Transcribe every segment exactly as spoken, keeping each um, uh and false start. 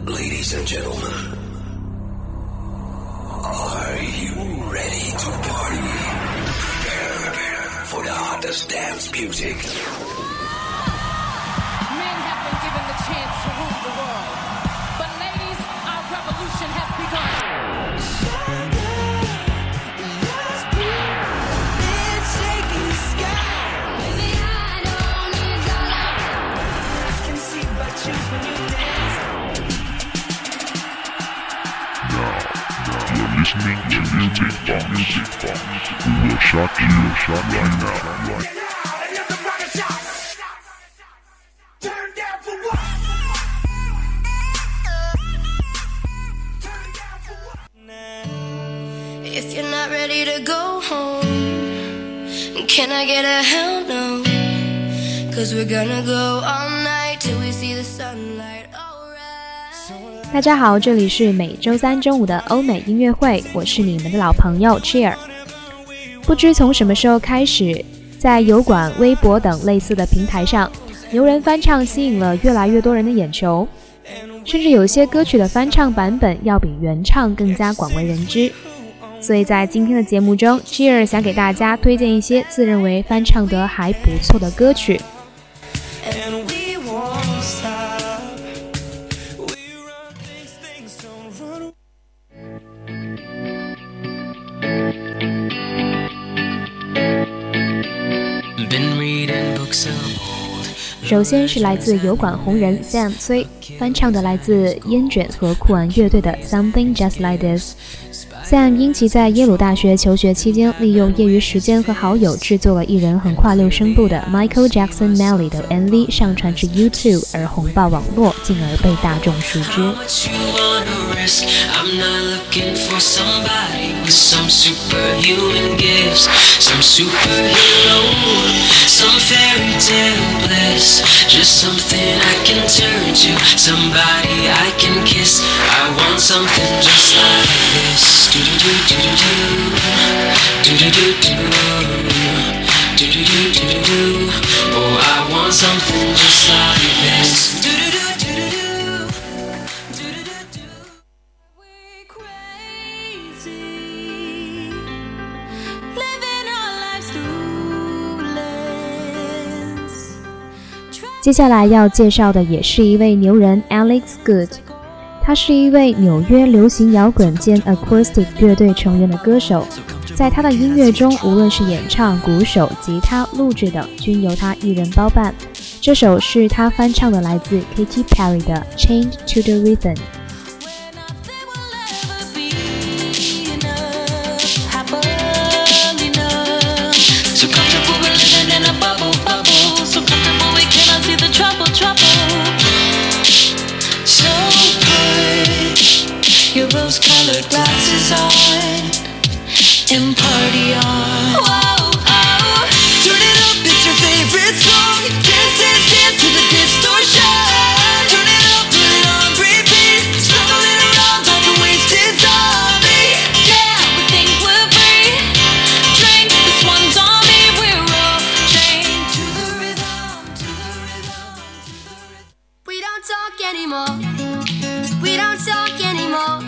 Ladies and gentlemen, are you ready to party? Prepare for the hottest dance music. Men have been given the chance to rule the world. But ladies, our revolution has begun. Listening to Music Box. Music Box. We will shock you, shock right now. Right. If you're not ready to go home, can I get a hell no? Cause we're gonna go all night till we see the sunlight. 大家好，这里是每周三中午的欧美音乐会，我是你们的老朋友 Cheer。 不知从什么时候开始，在油管、微博等类似的平台上，牛人翻唱吸引了越来越多人的眼球，甚至有些歌曲的翻唱版本要比原唱更加广为人知。所以在今天的节目中， Cheer 想给大家推荐一些自认为翻唱得还不错的歌曲。首先是来自油管红人 Sam 崔翻唱的来自烟卷和酷玩乐队的 Something Just Like This。 Sam 因其在耶鲁大学求学期间利用业余时间和好友制作了一人横跨六声部的 Michael Jackson Melly 的 M V 上传至 YouTube 而红爆网络，进而被大众熟知。 I'm not looking for somebody with some superhuman gifts, some superhero, some fairy tale bliss, just something I can turn to, somebody I can kiss. I want something just like this. Do do do do do do do do do do do do do do. Oh, I want something just like this. Do do do. 接下来要介绍的也是一位牛人 Alex Good， 他是一位纽约流行摇滚兼 acoustic 乐队成员的歌手，在他的音乐中，无论是演唱、鼓手、吉他、录制等，均由他一人包办。这首是他翻唱的来自 Katy Perry 的 Chained to the Rhythm。 Rose-colored glasses on and party on. Whoa, oh, turn it up, it's your favorite song. Dance, dance, dance to the distortion. Turn it up, put it on repeat. Stumbling around like a wasted zombie. Yeah, we think we're free. Drink, this one's on me. We're all chained to the rhythm, to the rhythm, to the rhythm. We don't talk anymore. We don't talk anymore.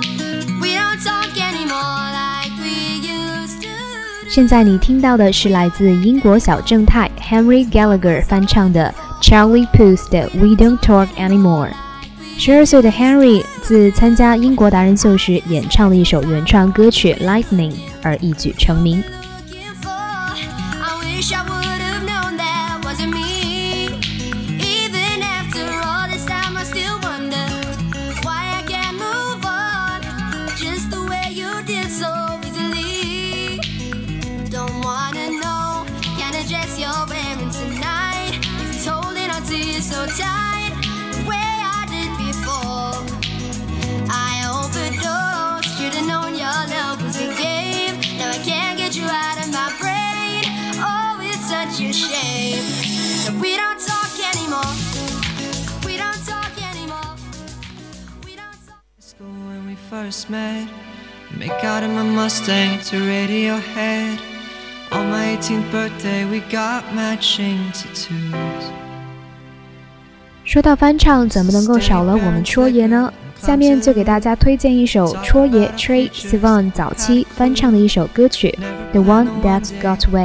现在你听到的是来自英国小正太 Henry Gallagher 翻唱的 Charlie Puth 的 We Don't Talk Anymore。 十二岁的 Henry 自参加英国达人秀时演唱了一首原创歌曲 Lightning 而一举成名。 Tight, the way I did before. I overdosed, should've known your love was a game. Now I can't get you out of my brain. Oh, it's such a shame that we don't talk anymore. We don't talk anymore. We don't talk. School when we first met, make out in my Mustang to Radiohead. On my eighteenth birthday, we got matching tattoos. 说到翻唱，怎么能够少了我们戳爷呢？下面就给大家推荐一首戳爷 Troye Sivan 早期翻唱的一首歌曲 The One That Got Away。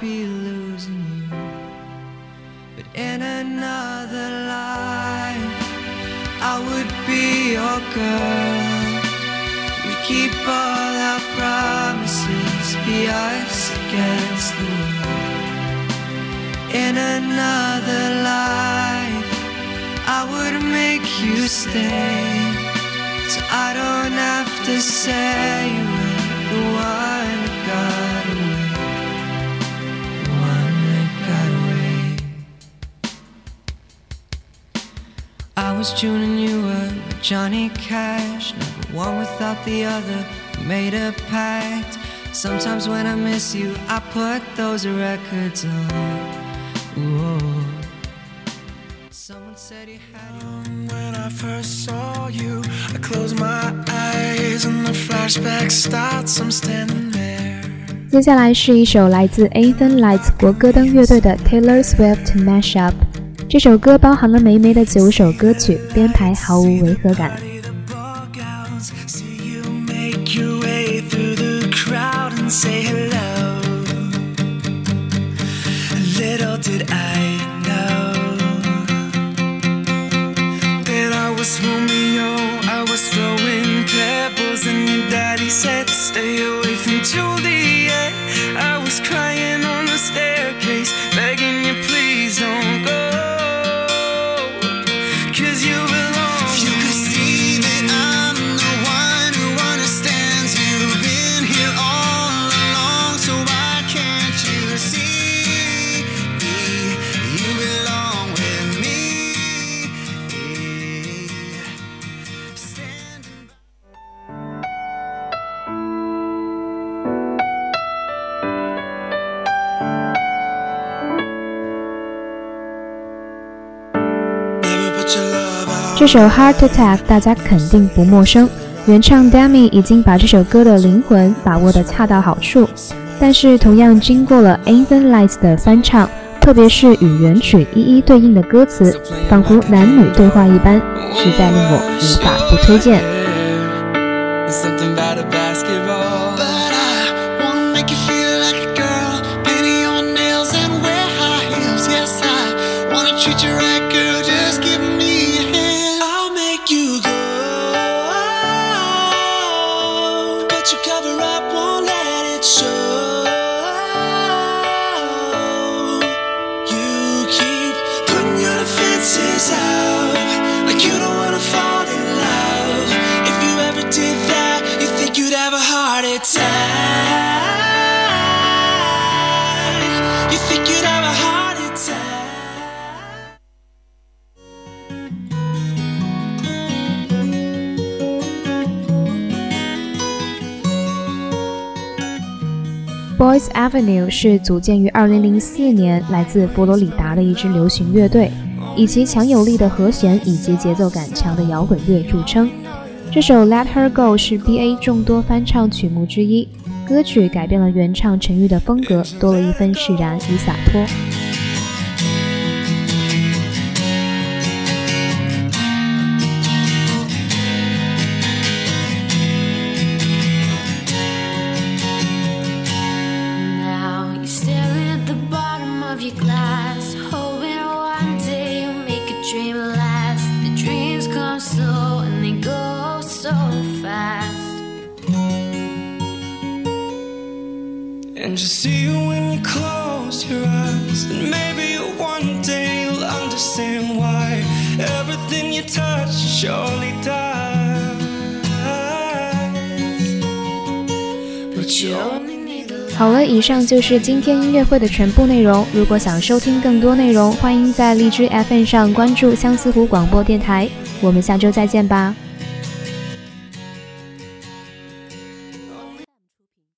In another life I would be your girl. We keep all our promises, be us against the world. In another life I would make you stay, so I don't have to say you were the one that got away, the one that got away. I was June and you were Johnny Cash, never one without the other, we made a pact. Sometimes when I miss you I put those records on. Whoa. Someone said you had you. When I first saw you I closed my eyes and the flashback starts, I'm standing there. 接下来是一首来自 Anthem Lights 国歌登乐队的 Taylor Swift Mashup。 这首歌包含了霉霉的九首歌曲，编排毫无违和感。 Was Romeo, I was throwing pebbles and your daddy said stay away from Juliet. I was crying on the staircase, begging you please don't go, 'cause you belong. If you could see that I'm the one who understands, you've been here all along, so why can't you see me? You belong with me. 这首 Heart Attack 大家肯定不陌生，原唱 Demi 已经把这首歌的灵魂把握得恰到好处，但是同样经过了 Anthem Lights 的翻唱，特别是与原曲一一对应的歌词，仿佛男女对话一般，实在令我无法不推荐。Boys Avenue 是组建于二零零四年，来自佛罗里达的一支流行乐队，以其强有力的和弦以及节奏感强的摇滚乐著称。这首 Let Her Go 是 B A 众多翻唱曲目之一，歌曲改变了原唱陈玉的风格，多了一份释然与洒脱。 And just see you when you close your eyes, and maybe one day you'll understand why everything you touch surely dies. But you only need the 好了，以上就是今天音乐会的全部内容。如果想收听更多内容，欢迎在荔枝 F M 上关注相思湖广播电台。我们下周再见吧。